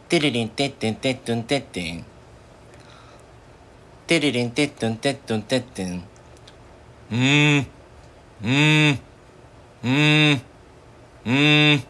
テレリンテッテンテットンテッテン。テレリンテットンテットンテッテン。うーん。